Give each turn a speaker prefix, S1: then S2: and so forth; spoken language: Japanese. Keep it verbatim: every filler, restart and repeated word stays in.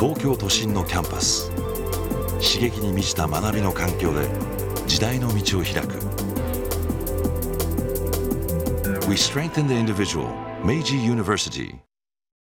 S1: 東京都心のキャンパス。刺激に満ちた学びの環境で時代の道を開く。 We strengthen the individual. Meiji University